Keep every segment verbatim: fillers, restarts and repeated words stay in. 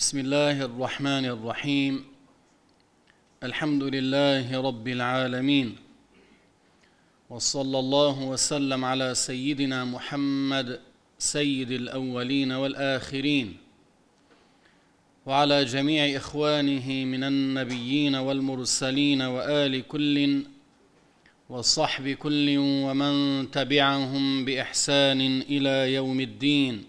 بسم الله الرحمن الرحيم الحمد لله رب العالمين وصلى الله وسلم على سيدنا محمد سيد الأولين والآخرين وعلى جميع إخوانه من النبيين والمرسلين وآل كل وصحب كل ومن تبعهم بإحسان إلى يوم الدين.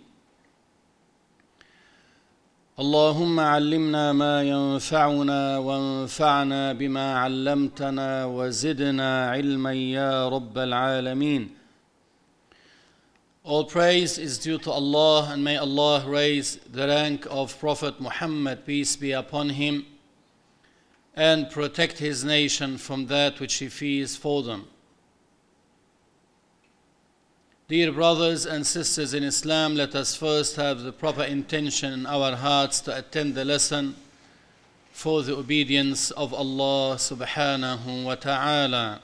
اللهم علمنا ما ينفعنا وانفعنا بما علمتنا وزدنا علما يا رب العالمين. All praise is due to Allah, and may Allah raise the rank of Prophet Muhammad, peace be upon him, and protect his nation from that which he fears for them. Dear brothers and sisters in Islam, let us first have the proper intention in our hearts to attend the lesson for the obedience of Allah subhanahu wa ta'ala.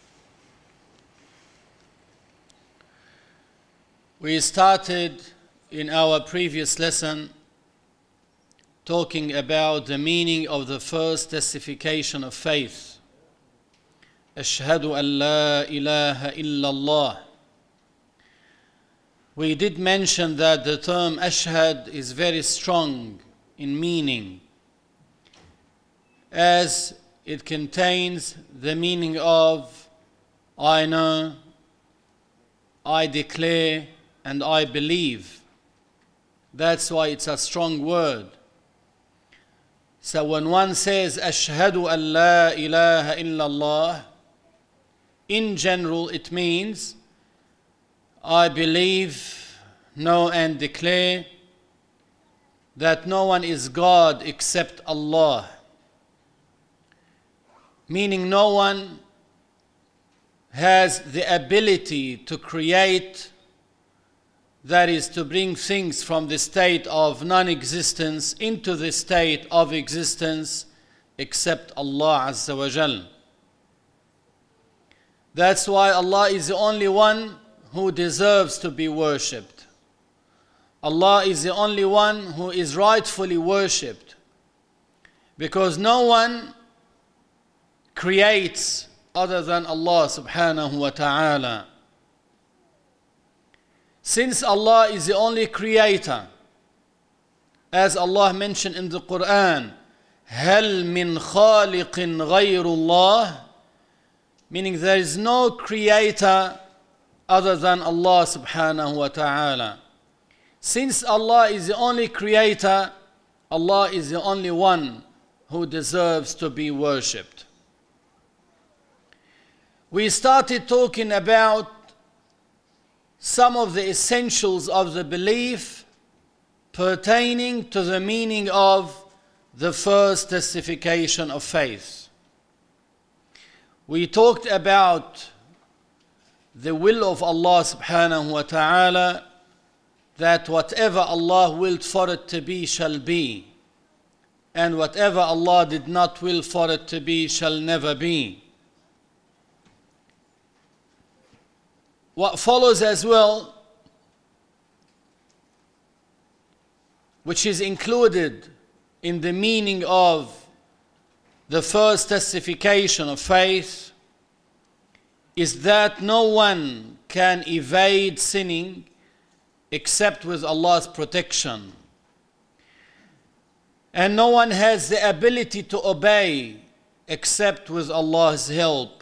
We started in our previous lesson talking about the meaning of the first testification of faith. Ashhadu an la ilaha illallah. We did mention that the term ashhad is very strong in meaning, as it contains the meaning of I know, I declare, and I believe. That's why it's a strong word. So when one says ashhadu an la ilaha illallah, in general it means I believe, know and declare that no one is God except Allah. Meaning no one has the ability to create, that is to bring things from the state of non-existence into the state of existence, except Allah Azza wa Jal. That's why Allah is the only one who deserves to be worshipped. Allah is the only one who is rightfully worshipped, because no one creates other than Allah subhanahu wa ta'ala. Since Allah is the only creator, as Allah mentioned in the Quran, هَلْ مِنْ خَالِقٍ غَيْرُ اللَّهِ, meaning there is no creator other than Allah subhanahu wa ta'ala. Since Allah is the only creator, Allah is the only one who deserves to be worshipped. We started talking about some of the essentials of the belief pertaining to the meaning of the first testification of faith. We talked about the will of Allah subhanahu wa ta'ala, that whatever Allah willed for it to be shall be, and whatever Allah did not will for it to be shall never be. What follows as well, which is included in the meaning of the first testification of faith, is that no one can evade sinning except with Allah's protection. And no one has the ability to obey except with Allah's help.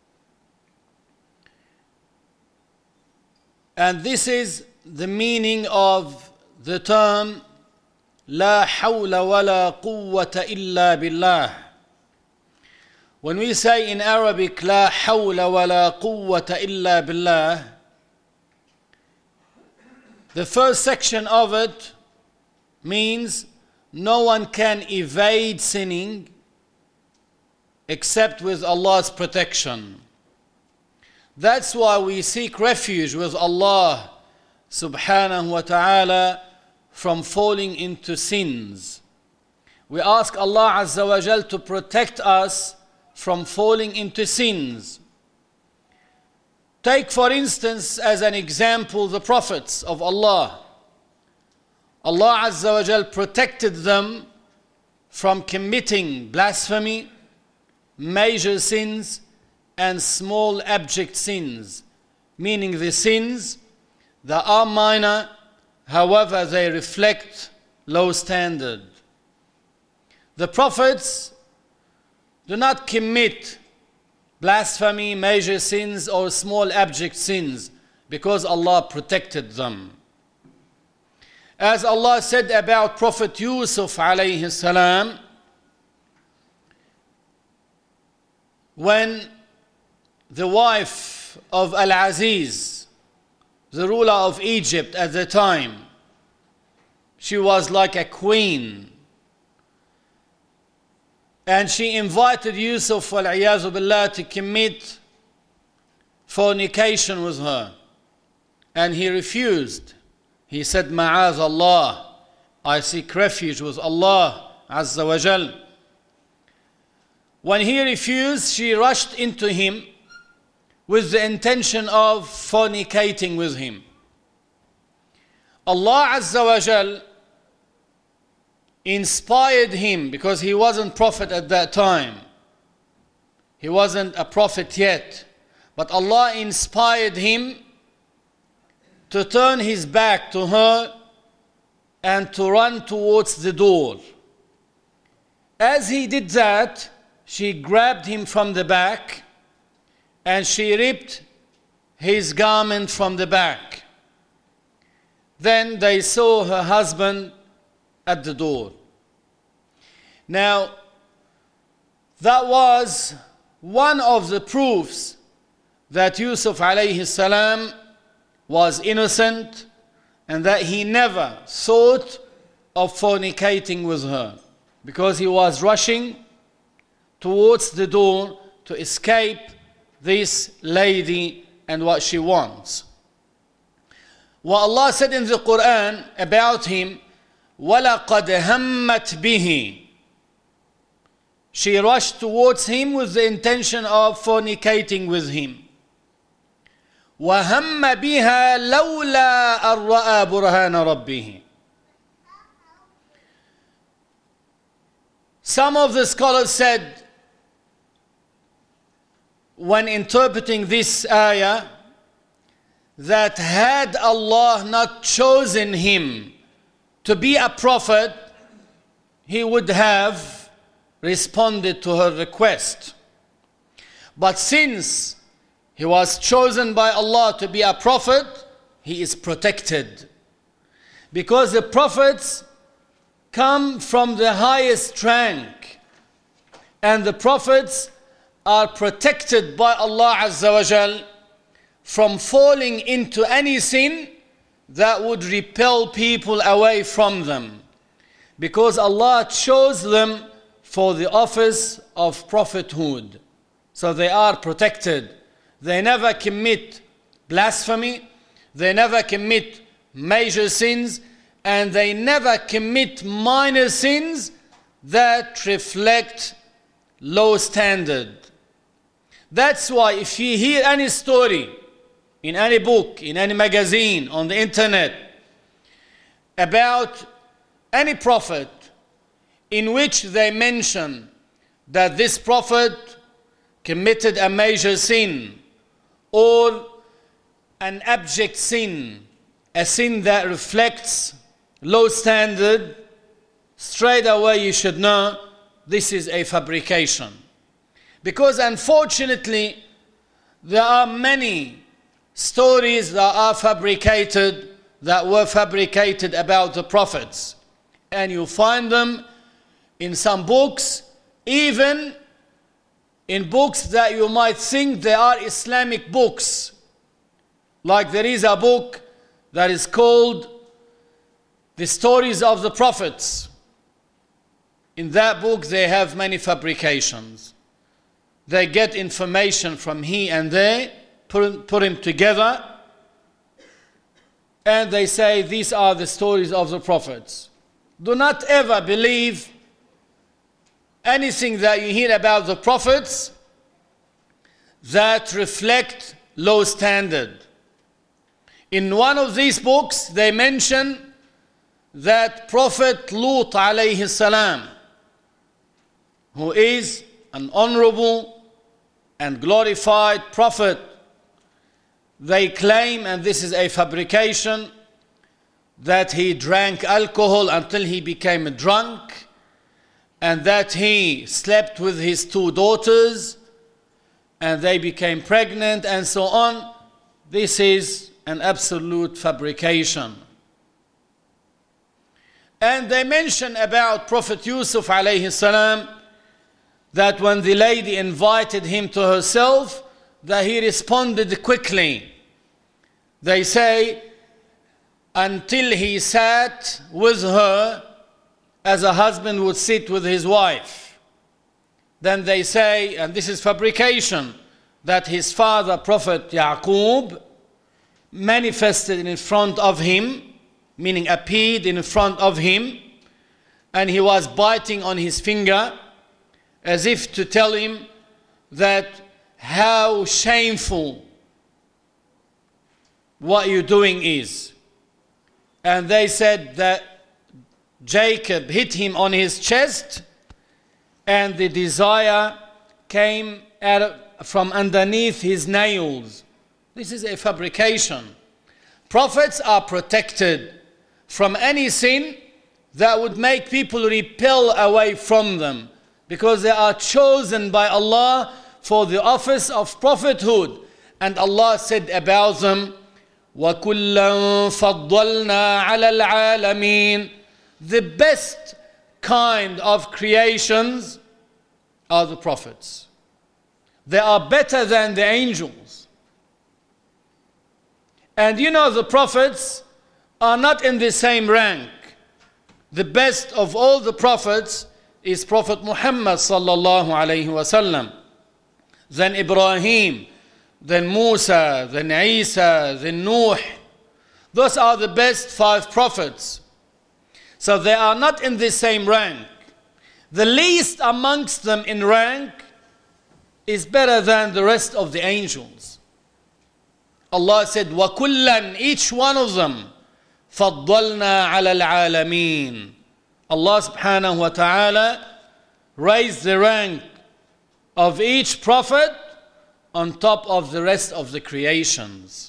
And this is the meaning of the term La hawla wa la quwwata illa billah. When we say in Arabic, La hawla wa la quwwata illa billah, the first section of it means no one can evade sinning except with Allah's protection. That's why we seek refuge with Allah subhanahu wa ta'ala from falling into sins. We ask Allah Azza wa Jal to protect us from falling into sins. Take for instance as an example the prophets of Allah. Allah Azza wa Jal protected them from committing blasphemy, major sins, and small abject sins, meaning the sins that are minor, however they reflect low standard. The prophets do not commit blasphemy, major sins, or small abject sins because Allah protected them. As Allah said about Prophet Yusuf alayhi salam, when the wife of Al-Aziz, the ruler of Egypt at the time, she was like a queen, and she invited Yusuf wal-iyazu billah to commit fornication with her, and he refused. He said, Ma'az Allah, I seek refuge with Allah Azza wa Jal. When he refused, she rushed into him with the intention of fornicating with him. Allah Azza wa Jal inspired him, because he wasn't prophet at that time. He wasn't a prophet yet. But Allah inspired him to turn his back to her and to run towards the door. As he did that, she grabbed him from the back and she ripped his garment from the back. Then they saw her husband at the door. Now, that was one of the proofs that Yusuf alayhi salam was innocent and that he never thought of fornicating with her, because he was rushing towards the door to escape this lady and what she wants. What Allah said in the Quran about him, وَلَقَدْ هَمَّتْ بِهِ, she rushed towards him with the intention of fornicating with him. وَهَمَّ بِهَا لَوْلَا أَن رَأَى بُرْهَانَ رَبِّهِ. Some of the scholars said, when interpreting this ayah, that had Allah not chosen him to be a prophet, he would have responded to her request. But since he was chosen by Allah to be a prophet, he is protected. Because the prophets come from the highest rank, and the prophets are protected by Allah Azza wa Jal from falling into any sin that would repel people away from them, because Allah chose them for the office of prophethood. So they are protected. They never commit blasphemy, they never commit major sins, and they never commit minor sins that reflect low standard. That's why if you hear any story in any book, in any magazine, on the internet, about any prophet in which they mention that this prophet committed a major sin or an abject sin, a sin that reflects low standard, straight away you should know this is a fabrication. Because unfortunately, there are many stories that are fabricated, that were fabricated about the prophets. And you find them in some books, even in books that you might think they are Islamic books. Like there is a book that is called The Stories of the Prophets. In that book they have many fabrications. They get information from here and there, put, put them together, and they say these are the stories of the prophets. Do not ever believe anything that you hear about the prophets that reflect low standard. In one of these books, they mention that Prophet Lut alayhi salam, who is an honorable and glorified prophet, they claim, and this is a fabrication, that he drank alcohol until he became drunk, and that he slept with his two daughters and they became pregnant and so on. This is an absolute fabrication. And they mention about Prophet Yusuf alayhi salam that when the lady invited him to herself, that he responded quickly. They say, until he sat with her as a husband would sit with his wife. Then they say, and this is fabrication, that his father, Prophet Yaqub, manifested in front of him, meaning appeared in front of him, and he was biting on his finger as if to tell him that how shameful what you're doing is. And they said that Jacob hit him on his chest and the desire came out from underneath his nails. This is a fabrication. Prophets are protected from any sin that would make people repel away from them, because they are chosen by Allah for the office of prophethood. And Allah said about them, وَكُلًّا فَضَّلْنَا عَلَى الْعَالَمِينَ. The best kind of creations are the prophets. They are better than the angels. And you know, the prophets are not in the same rank. The best of all the prophets is Prophet Muhammad sallallahu alayhi wasallam. Then Ibrahim, then Musa, then Isa, then Nuh. Those are the best five prophets. So they are not in the same rank. The least amongst them in rank is better than the rest of the angels. Allah said, وَكُلًّا, each one of them, فَضَّلْنَا عَلَى الْعَالَمِينَ. Allah subhanahu wa ta'ala raised the rank of each prophet on top of the rest of the creations.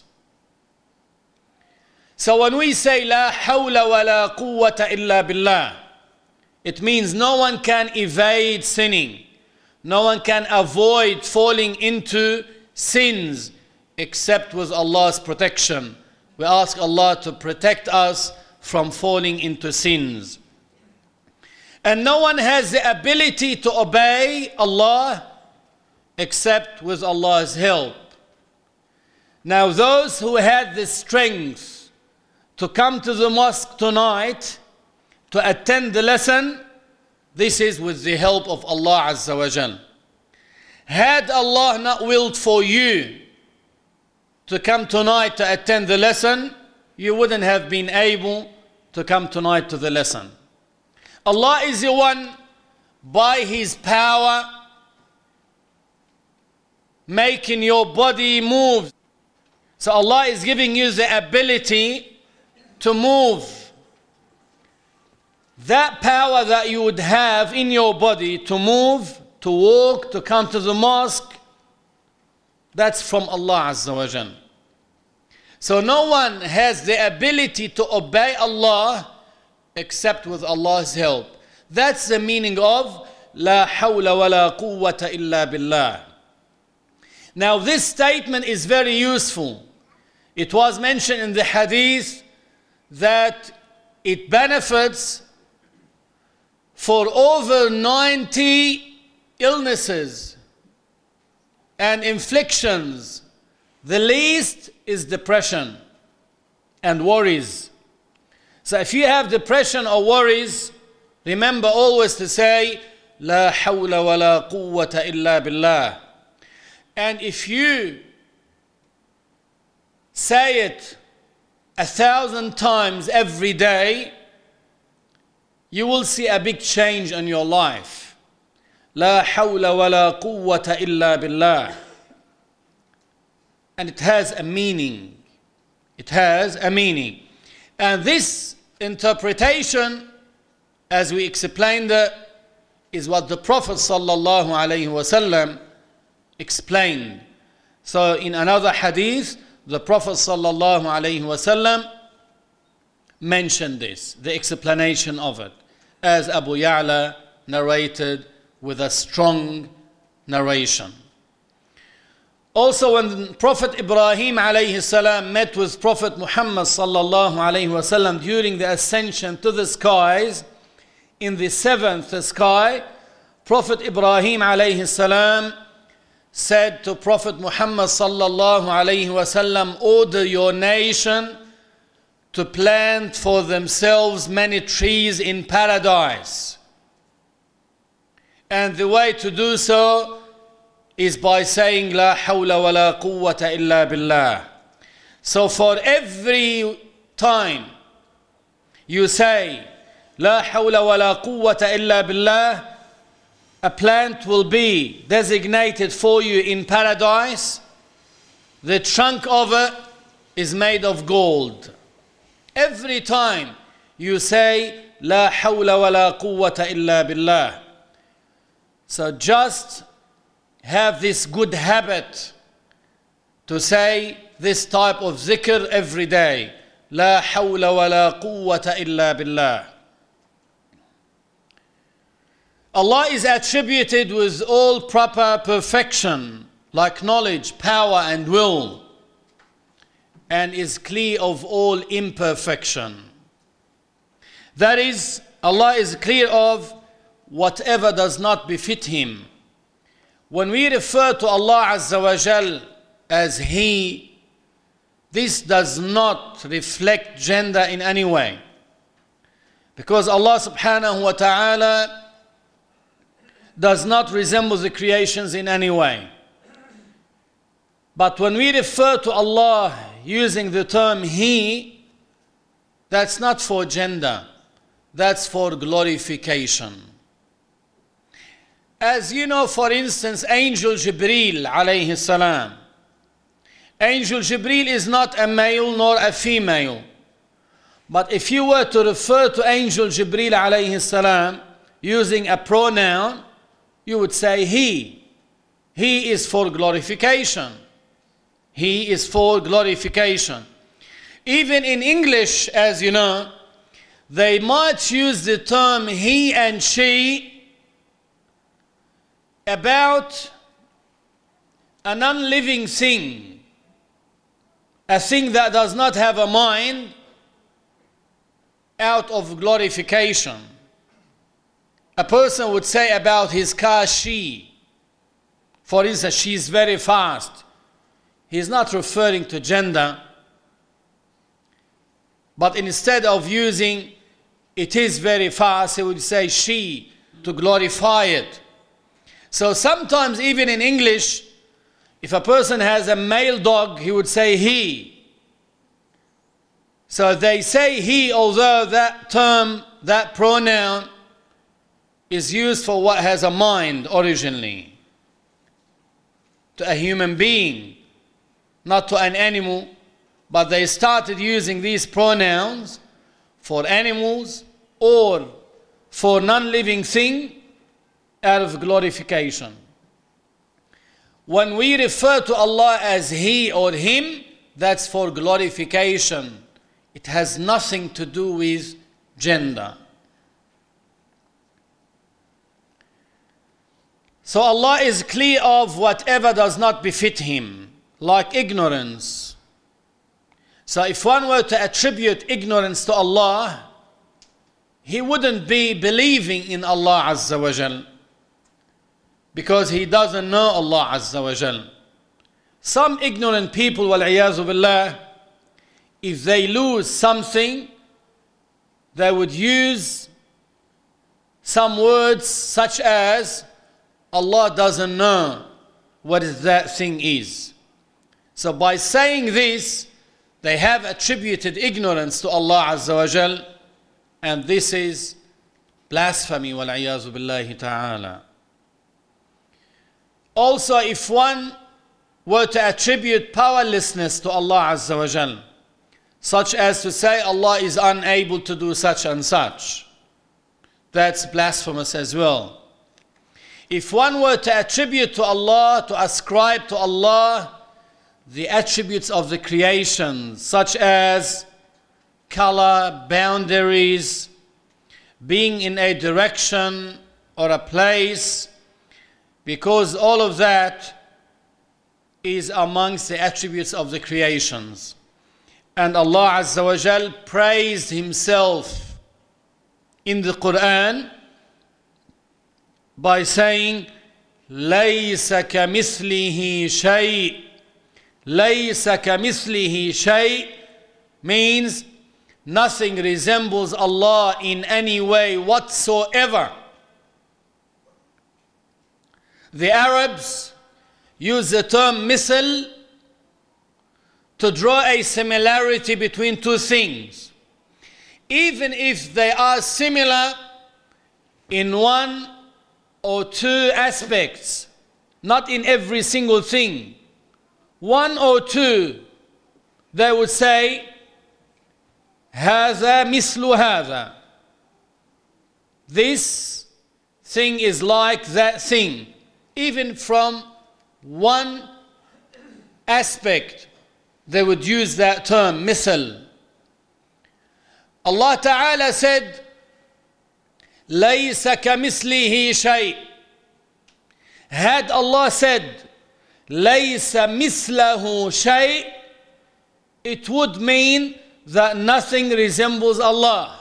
So when we say لا حول ولا قوة إلا بالله, it means no one can evade sinning. No one can avoid falling into sins except with Allah's protection. We ask Allah to protect us from falling into sins. And no one has the ability to obey Allah except with Allah's help. Now those who had the strength to come to the mosque tonight to attend the lesson, this is with the help of Allah Azza wa Jal. Had Allah not willed for you to come tonight to attend the lesson, you wouldn't have been able to come tonight to the lesson. Allah is the one, by His power, making your body move. So Allah is giving you the ability to move. That power that you would have in your body to move, to walk, to come to the mosque, that's from Allah Azza wa Jal. So no one has the ability to obey Allah except with Allah's help. That's the meaning of لا حول ولا قوة إلا بالله. Now this statement is very useful. It was mentioned in the hadith that it benefits for over ninety illnesses and inflictions. The least is depression and worries. So if you have depression or worries, remember always to say لا حول ولا قوة إلا بالله. And if you say it a thousand times every day, you will see a big change in your life. لا حول ولا قوة إلا بالله. And it has a meaning. It has a meaning. And this interpretation, as we explained it, is what the Prophet sallallahu alaihi wasallam explained. So in another hadith, the Prophet sallallahu alaihi wasallam mentioned this, the explanation of it, as Abu Ya'la narrated with a strong narration. Also, when Prophet Ibrahim alayhi salam met with Prophet Muhammad sallallahu alayhi wasallam during the ascension to the skies, in the seventh sky, Prophet Ibrahim alayhi salam said to Prophet Muhammad sallallahu alayhi wasallam, order your nation to plant for themselves many trees in paradise. And the way to do so is by saying La hawla wa la quwwata illa billah. So for every time you say La hawla wa la quwwata illa billah, a plant will be designated for you in paradise. The trunk of it is made of gold. Every time you say La hawla wa la quwwata illa billah. So just have this good habit to say this type of zikr every day. La hawla wa la quwwata illa billah. Allah is attributed with all proper perfection, like knowledge, power and will, and is clear of all imperfection. That is, Allah is clear of whatever does not befit Him. When we refer to Allah Azza wa Jal as He, this does not reflect gender in any way. Because Allah subhanahu wa ta'ala does not resemble the creations in any way. But when we refer to Allah using the term He, that's not for gender, that's for glorification. As you know, for instance, Angel Jibreel alayhi salam. Angel Jibreel is not a male nor a female. But if you were to refer to Angel Jibreel alayhi salam using a pronoun, you would say he. He is for glorification. He is for glorification. Even in English, as you know, they might use the term he and she about a non-living thing, a thing that does not have a mind, out of glorification. A person would say about his car, she. For instance, she is very fast. He is not referring to gender, but instead of using it is very fast, he would say she to glorify it. So sometimes even in English, if a person has a male dog, he would say he. So they say he, although that term, that pronoun is used for what has a mind originally, to a human being, not to an animal, but they started using these pronouns for animals or for non-living thing out of glorification. When we refer to Allah as He or Him, that's for glorification. It has nothing to do with gender. So Allah is clear of whatever does not befit Him, like ignorance. So if one were to attribute ignorance to Allah, he wouldn't be believing in Allah Azza wa Jal, because he doesn't know Allah Azza wa Jal. Some ignorant people, wal-iyazu billah, if they lose something, they would use some words such as, Allah doesn't know what that thing is. So by saying this, they have attributed ignorance to Allah Azza wa Jal, and this is blasphemy, wal-iyazu billahi ta'ala. Also, if one were to attribute powerlessness to Allah Azza wa Jal, such as to say Allah is unable to do such and such. That's blasphemous as well. If one were to attribute to Allah, to ascribe to Allah the attributes of the creation, such as color, boundaries, being in a direction or a place, because all of that is amongst the attributes of the creations. And Allah Azza wa Jal praised Himself in the Quran by saying, لَيْسَ كَمِثْلِهِ شَيْءٍ. لَيْسَ كَمِثْلِهِ شَيْءٍ means nothing resembles Allah in any way whatsoever. The Arabs use the term misl to draw a similarity between two things, even if they are similar in one or two aspects, not in every single thing. One or two, they would say, هذا مثل هذا. This thing is like that thing, even from one aspect. They would use that term, misl. Allah Ta'ala said, لَيْسَ كَمِثْلِهِ شَيْءٍ. Had Allah said, لَيْسَ مِثْلَهُ شَيْءٍ, it would mean that nothing resembles Allah.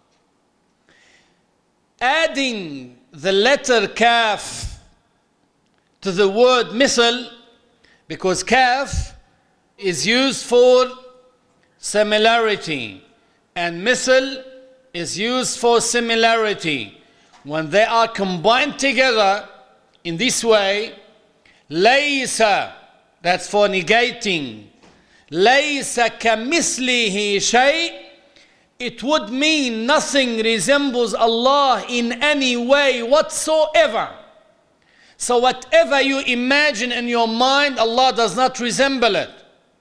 Adding the letter kaf to the word misl, because kaf is used for similarity and misl is used for similarity. When they are combined together in this way, laysa, that's for negating, laysa kamithlihi shay', it would mean nothing resembles Allah in any way whatsoever. So whatever you imagine in your mind, Allah does not resemble it.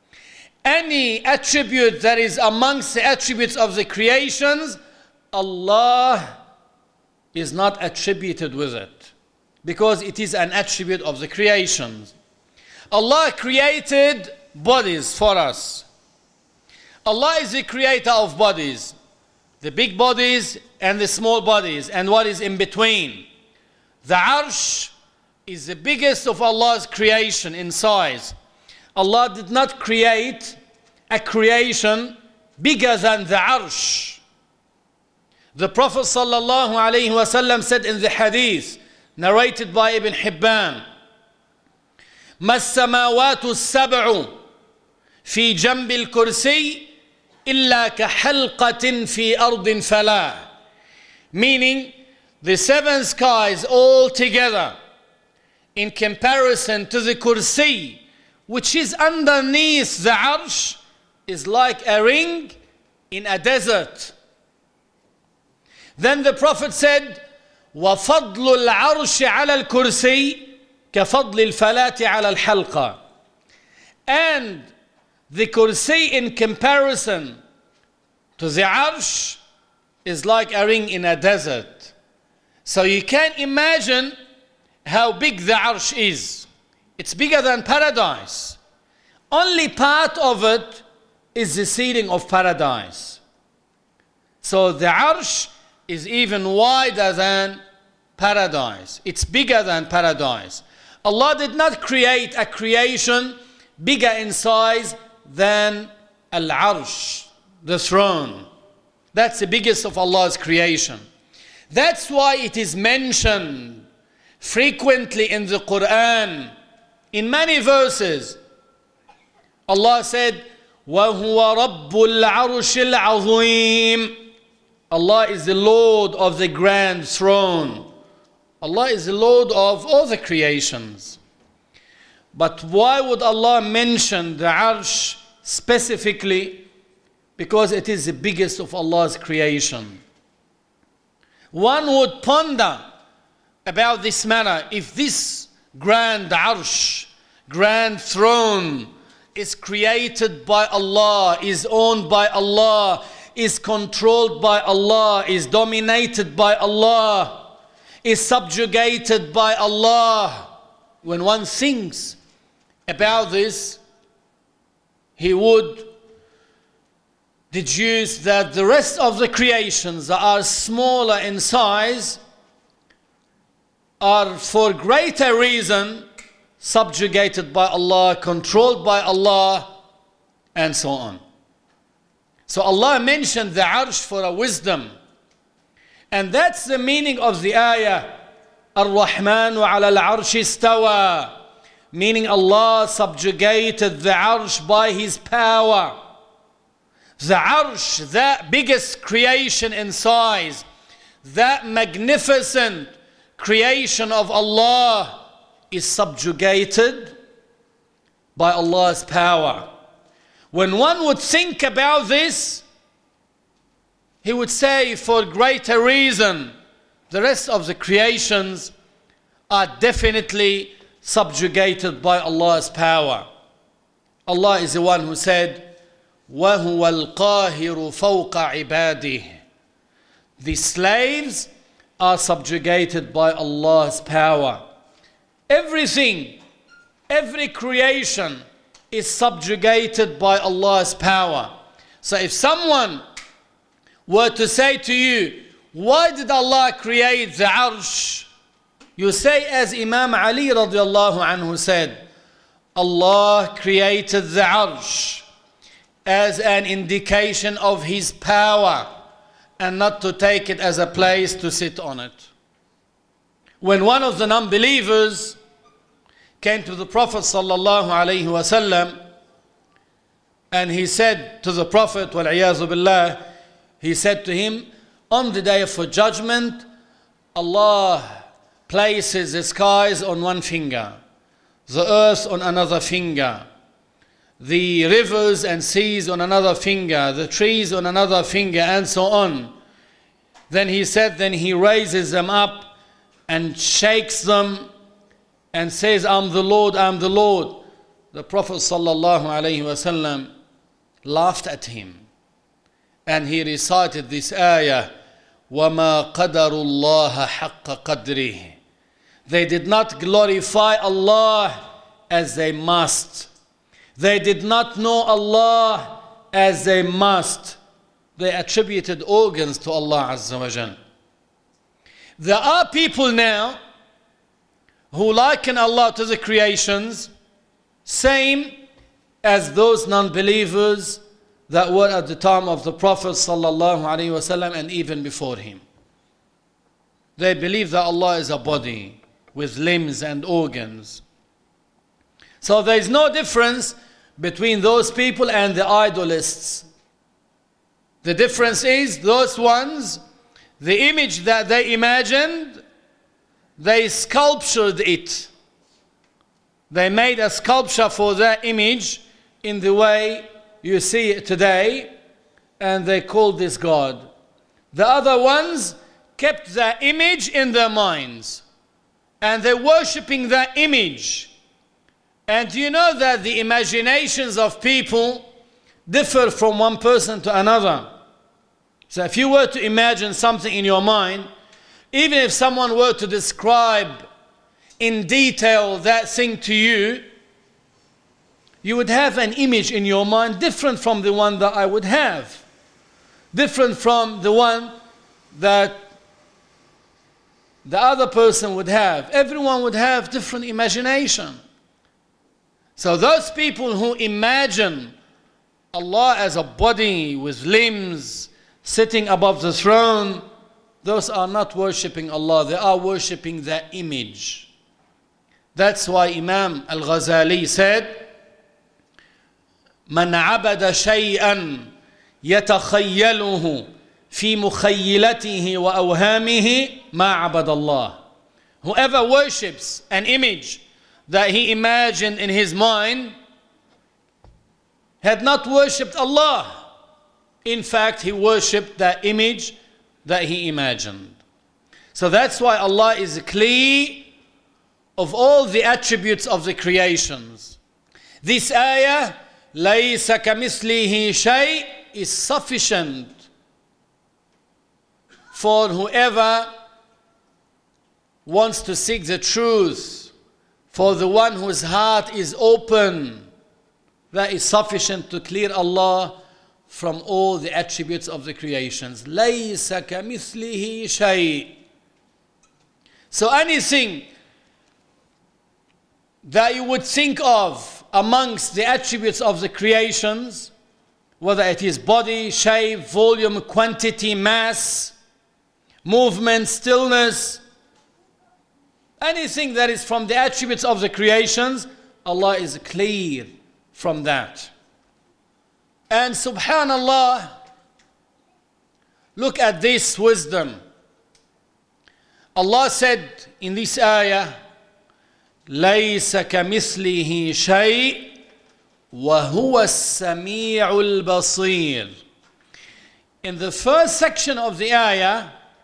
Any attribute that is amongst the attributes of the creations, Allah is not attributed with it, because it is an attribute of the creations. Allah created bodies for us. Allah is the creator of bodies, the big bodies and the small bodies, and what is in between. The Arsh is the biggest of Allah's creation in size. Allah did not create a creation bigger than the Arsh. The Prophet sallallahu alaihi wasallam said in the hadith narrated by Ibn Hibban, ما السماوات السبع في جنب الكرسي إلا كحلقة في أرض فلا. Meaning, the seven skies all together in comparison to the kursi, which is underneath the arsh, is like a ring in a desert. Then the Prophet said, وَفَضْلُ الْعَرْشِ عَلَى الْكُرْسِيِّ كَفَضْلِ الْفَلَاةِ عَلَى الْحَلْقَةِ. And the kursi in comparison to the arsh is like a ring in a desert. So you can imagine how big the arsh is. It's bigger than paradise. Only part of it is the ceiling of paradise. So the arsh is even wider than paradise. It's bigger than paradise. Allah did not create a creation bigger in size than Al-Arsh, the throne. That's the biggest of Allah's creation. That's why it is mentioned frequently in the Quran. In many verses, Allah said, وَهُوَ رَبُّ الْعَرْشِ الْعَظِيمِ. Allah is the Lord of the grand throne. Allah is the Lord of all the creations. But why would Allah mention the Arsh specifically? Because it is the biggest of Allah's creation. One would ponder about this matter. If this grand Arsh, grand throne, is created by Allah, is owned by Allah, is controlled by Allah, is dominated by Allah, is subjugated by Allah. When one thinks about this, he would deduce that the rest of the creations that are smaller in size are for greater reason subjugated by Allah, controlled by Allah, and so on. So Allah mentioned the arsh for a wisdom. And that's the meaning of the ayah. Ar-Rahmanu ala al-arsh istawa. Meaning Allah subjugated the arsh by His power. The arsh, that biggest creation in size, that magnificent creation of Allah, is subjugated by Allah's power. When one would think about this, he would say, for greater reason, the rest of the creations are definitely subjugated by Allah's power. Allah is the one who said, وَهُوَ الْقَاهِرُ فَوْقَ عِبَادِهِ. The slaves are subjugated by Allah's power. Everything, every creation is subjugated by Allah's power. So if someone were to say to you, why did Allah create the arsh? You say, as Imam Ali radiallahu anhu said, Allah created the arsh as an indication of His power and not to take it as a place to sit on it. When one of the non-believers came to the Prophet sallallahu alaihi wasallam and he said to the Prophet, wal-iyazu billah, he said to him, on the day of judgment, Allah places the skies on one finger, the earth on another finger, the rivers and seas on another finger, the trees on another finger, and so on. Then he said, then He raises them up and shakes them and says, I'm the Lord, I'm the Lord. The Prophet sallallahu alaihi wasallam laughed at him and he recited this ayah, وَمَا قَدَرُ اللَّهَ حَقَّ قَدْرِهِ. They did not glorify Allah as they must. They did not know Allah as they must. They attributed organs to Allah Azza wa Jal. There are people now who liken Allah to the creations, same as those non-believers that were at the time of the Prophet sallallahu alaihi wasallam and even before him. They believe that Allah is a body with limbs and organs. So there is no difference between those people and the idolists. The difference is those ones, the image that they imagined, they sculptured it. They made a sculpture for that image in the way you see it today, and they called this God. The other ones kept that image in their minds, and they're worshipping that image. And you know that the imaginations of people differ from one person to another. So if you were to imagine something in your mind, even if someone were to describe in detail that thing to you, you would have an image in your mind different from the one that I would have. Different from the one that the other person would have. Everyone would have different imagination. So those people who imagine Allah as a body with limbs sitting above the throne, those are not worshipping Allah, they are worshipping that image. That's why Imam Al-Ghazali said, من عبد شيئا يتخيله في مخيلته وأوهامه ما عبد الله. Whoever worships an image that he imagined in his mind had not worshipped Allah. In fact, he worshipped that image that he imagined. So that's why Allah is clear of all the attributes of the creations. This ayah لَيْسَ كَمِثْلِهِ شَيْءٍ is sufficient for whoever wants to seek the truth, for the one whose heart is open. That is sufficient to clear Allah from all the attributes of the creations. لَيْسَ كَمِثْلِهِ شَيْءٍ. So anything that you would think of amongst the attributes of the creations, whether it is body, shape, volume, quantity, mass, movement, stillness, anything that is from the attributes of the creations, Allah is clear from that. And subhanallah, look at this wisdom. Allah said in this ayah, لَيْسَ كَمِثْلِهِ شَيْءٍ وَهُوَ السَّمِيعُ الْبَصِيرُ. In the first section of the ayah,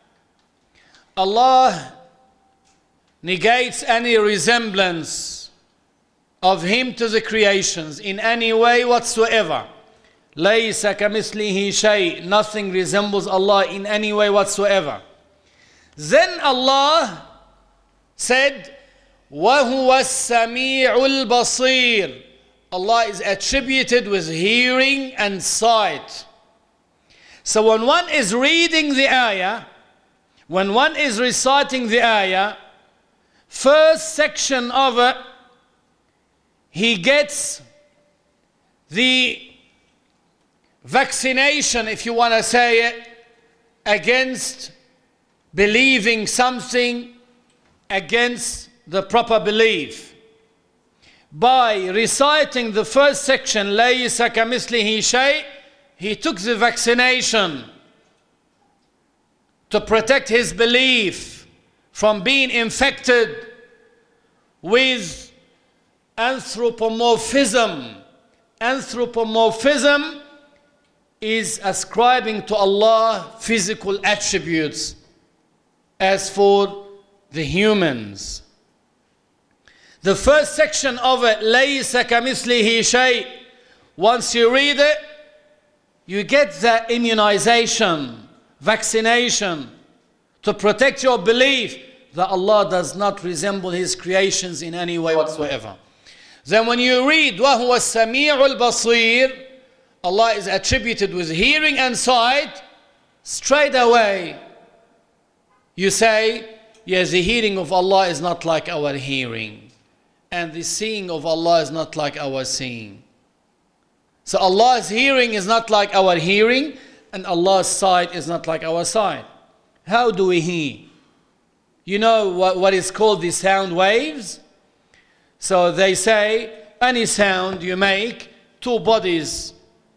Allah negates any resemblance of Him to the creations in any way whatsoever. لَيْسَ كَمِثْلِهِ شَيْءٍ. Nothing resembles Allah in any way whatsoever. Then Allah said, وَهُوَ السَّمِيعُ الْبَصِيرُ. Allah is attributed with hearing and sight. So when one is reading the ayah, when one is reciting the ayah, first section of it, he gets the vaccination, if you want to say it, against believing something against the proper belief. By reciting the first section, لَيْسَ كَمِثْلِهِ شَيْءٍ, he took the vaccination to protect his belief from being infected with anthropomorphism. Anthropomorphism is ascribing to Allah physical attributes as for the humans. The first section of it, لَيْسَ كَمِثْلِهِ شَيْءٍ, once you read it, you get the immunization, vaccination, to protect your belief that Allah does not resemble His creations in any way whatsoever. Then when you read وَهُوَ السَّمِيعُ الْبَصِيرُ, Allah is attributed with hearing and sight, straight away you say, yes, the hearing of Allah is not like our hearing, and the seeing of Allah is not like our seeing. So Allah's hearing is not like our hearing, and Allah's sight is not like our sight. How do we hear? You know what, what is called the sound waves? So they say any sound you make, two bodies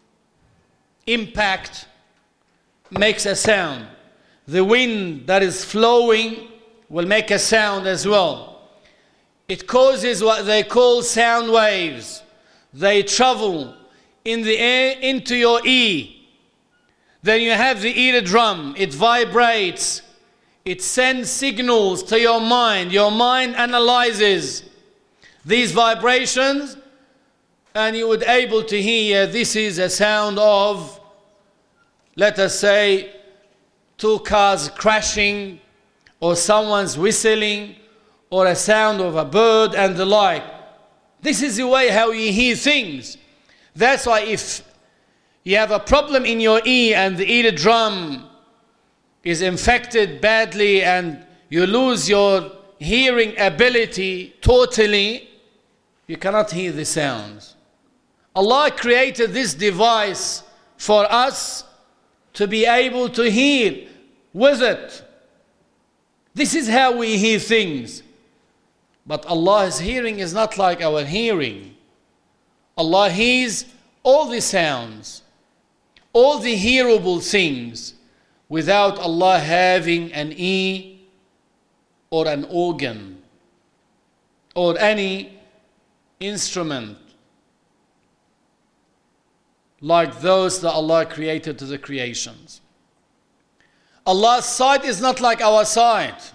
impact makes a sound. The wind that is flowing will make a sound as well. It causes what they call sound waves. They travel in the air into your ear. Then you have the eardrum. It vibrates. It sends signals to your mind. Your mind analyzes these vibrations, and you would able to hear this is a sound of, let us say, two cars crashing, or someone's whistling, or a sound of a bird and the like. This is the way how you hear things. That's why if you have a problem in your ear and the eardrum is infected badly and you lose your hearing ability totally, you cannot hear the sounds. Allah created this device for us to be able to hear with it. This is how we hear things. But Allah's hearing is not like our hearing. Allah hears all the sounds, all the hearable things, without Allah having an ear or an organ or any instrument like those that Allah created to the creations. Allah's sight is not like our sight.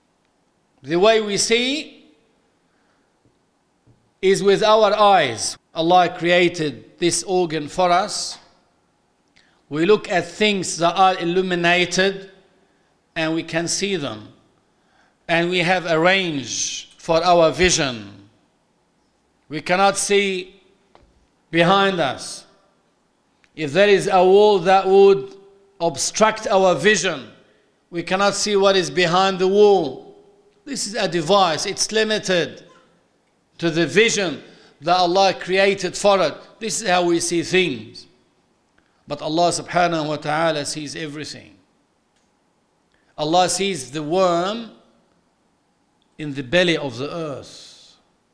The way we see is with our eyes. Allah created this organ for us. We look at things that are illuminated and we can see them. And we have a range for our vision. We cannot see behind us. If there is a wall that would obstruct our vision, we cannot see what is behind the wall. This is a device. It's limited to the vision that Allah created for it. This is how we see things. But Allah subhanahu wa ta'ala sees everything. Allah sees the worm in the belly of the earth.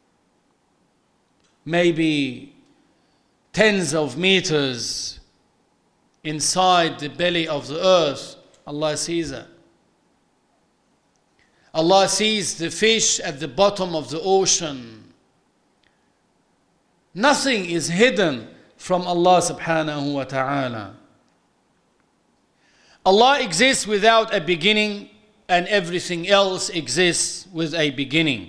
Maybe tens of meters inside the belly of the earth, Allah sees it. Allah sees the fish at the bottom of the ocean. Nothing is hidden from Allah subhanahu wa ta'ala. Allah exists without a beginning, and everything else exists with a beginning.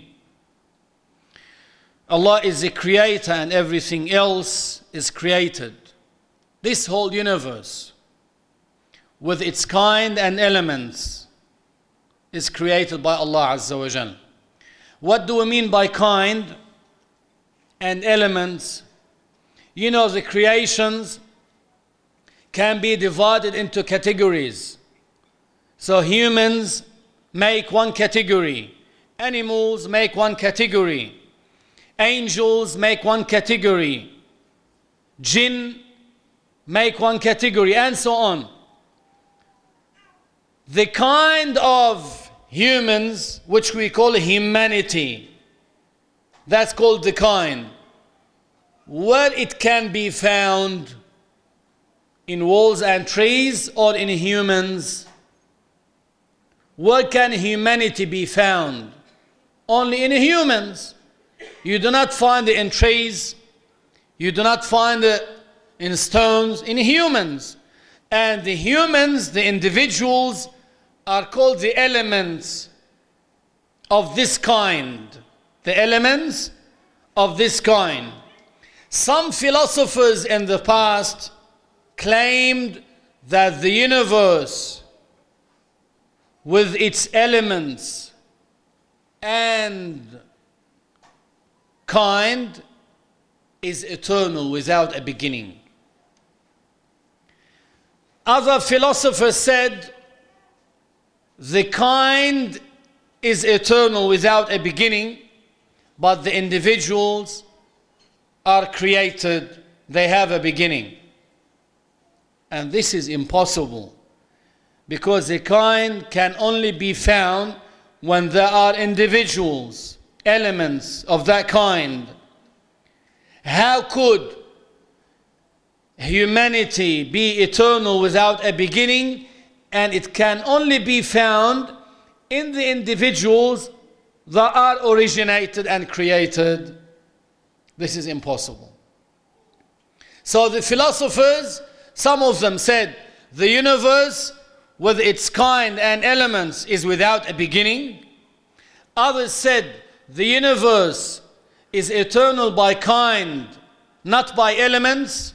Allah is the creator and everything else is created. This whole universe, with its kind and elements, is created by Allah Azza wa Jal. What do we mean by kind and elements? You know, the creations can be divided into categories. So humans make one category, animals make one category, angels make one category, jinn make one category, and so on. The kind of humans which we call humanity, that's called the kind. Where it can be found in walls and trees or in humans? Where can humanity be found? Only in humans. You do not find it in trees. You do not find it in stones. In humans. And the humans, the individuals, are called the elements of this kind. The elements of this kind. Some philosophers in the past claimed that the universe, with its elements and kind, is eternal without a beginning. Other philosophers said the kind is eternal without a beginning, but the individuals are created, they have a beginning. And this is impossible, because the kind can only be found when there are individuals, elements of that kind. How could humanity be eternal without a beginning? And it can only be found in the individuals that are originated and created. This is impossible. So the philosophers, some of them said the universe with its kind and elements is without a beginning. Others said the universe is eternal by kind, not by elements.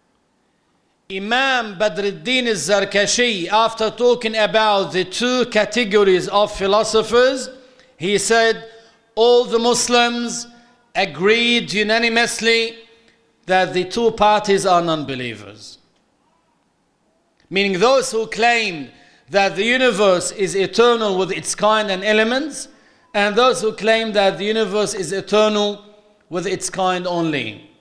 Imam Badruddin al-Zarkashi, after talking about the two categories of philosophers, he said all the Muslims agreed unanimously that the two parties are non-believers. Meaning those who claim that the universe is eternal with its kind and elements, and those who claim that the universe is eternal with its kind only.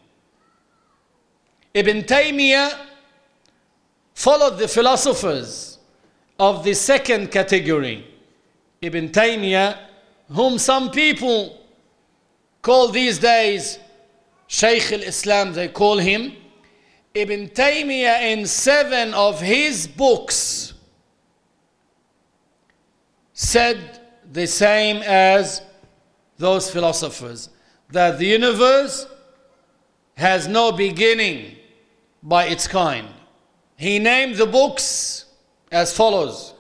Ibn Taymiyyah followed the philosophers of the second category. Ibn Taymiyyah, whom some people call these days Shaykh al-Islam, they call him. Ibn Taymiyyah, in seven of his books, said the same as those philosophers, that the universe has no beginning by its kind. He named the books as follows: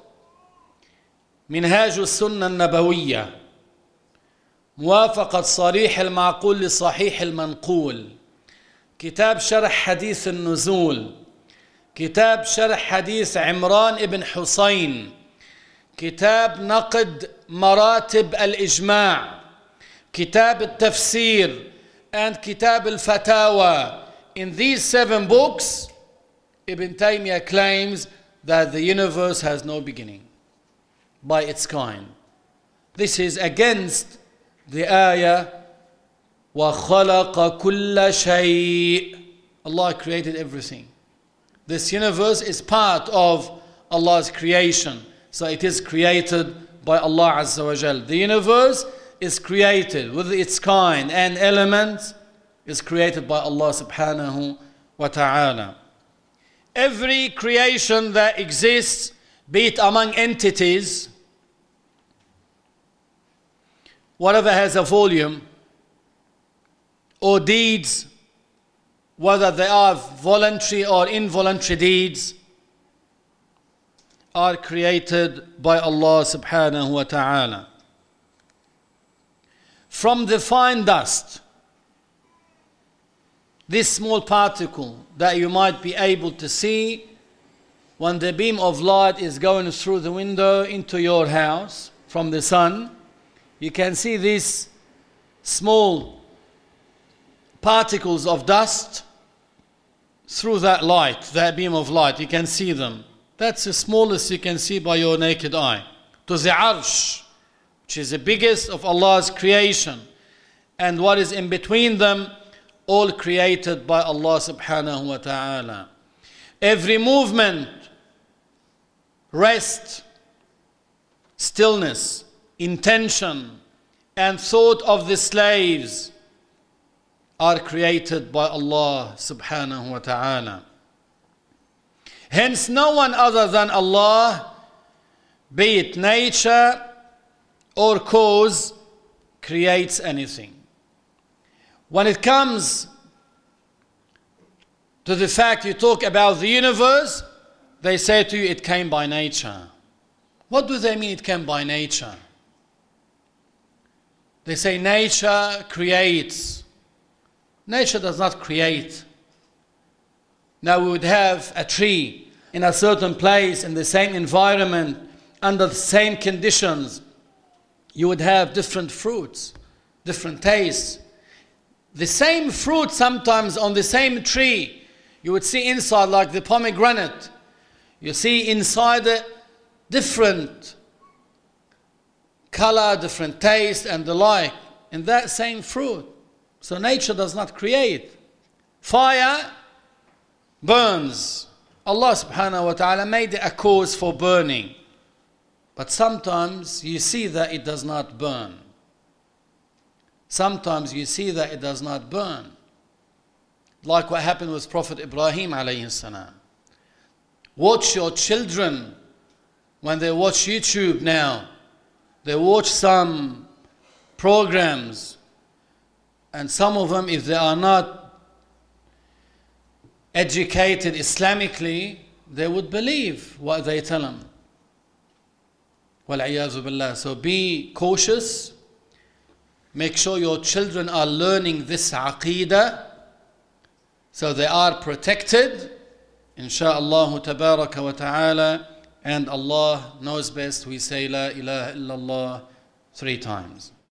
منهاج السنة النبوية، موافقة صريح المعقول لصحيح المنقول، كتاب شرح حديث النزول، كتاب شرح حديث عمران ابن حسين، كتاب نقد مراتب الإجماع، كتاب التفسير, and كتاب الفتاوى. In these seven books, Ibn Taymiyyah claims that the universe has no beginning by its kind. This is against the ayah, وَخَلَقَ كُلَّ شَيْءٍ. Allah created everything. This universe is part of Allah's creation. So it is created by Allah Azza wa Jal. The universe is created with its kind and elements is created by Allah subhanahu wa ta'ala. Every creation that exists, be it among entities, whatever has a volume, or deeds, whether they are voluntary or involuntary deeds, are created by Allah subhanahu wa ta'ala. From the fine dust, this small particle that you might be able to see when the beam of light is going through the window into your house from the sun, you can see these small particles of dust through that light, that beam of light. You can see them. That's the smallest you can see by your naked eye. To the arsh, which is the biggest of Allah's creation, and what is in between them, all created by Allah subhanahu wa ta'ala. Every movement, rest, stillness, intention, and thought of the slaves are created by Allah subhanahu wa ta'ala. Hence, no one other than Allah, be it nature or cause, creates anything. When it comes to the fact you talk about the universe, they say to you it came by nature. What do they mean it came by nature? They say nature creates. Nature does not create. Now we would have a tree in a certain place, in the same environment, under the same conditions. You would have different fruits, different tastes. The same fruit sometimes on the same tree, you would see inside, like the pomegranate, you see inside a different color, different taste and the like in that same fruit. So nature does not create. Fire burns. Allah subhanahu wa ta'ala made a cause for burning. But sometimes you see that it does not burn. Sometimes you see that it does not burn. Like what happened with Prophet Ibrahim alayhi salam. Watch your children when they watch YouTube now. They watch some programs, and some of them, if they are not educated Islamically, they would believe what they tell them. وَالْعِيَاذُ بِاللَّهِ. So be cautious. Make sure your children are learning this aqeedah so they are protected, insha'Allah tabaraka wa ta'ala. And Allah knows best. We say La ilaha illallah three times.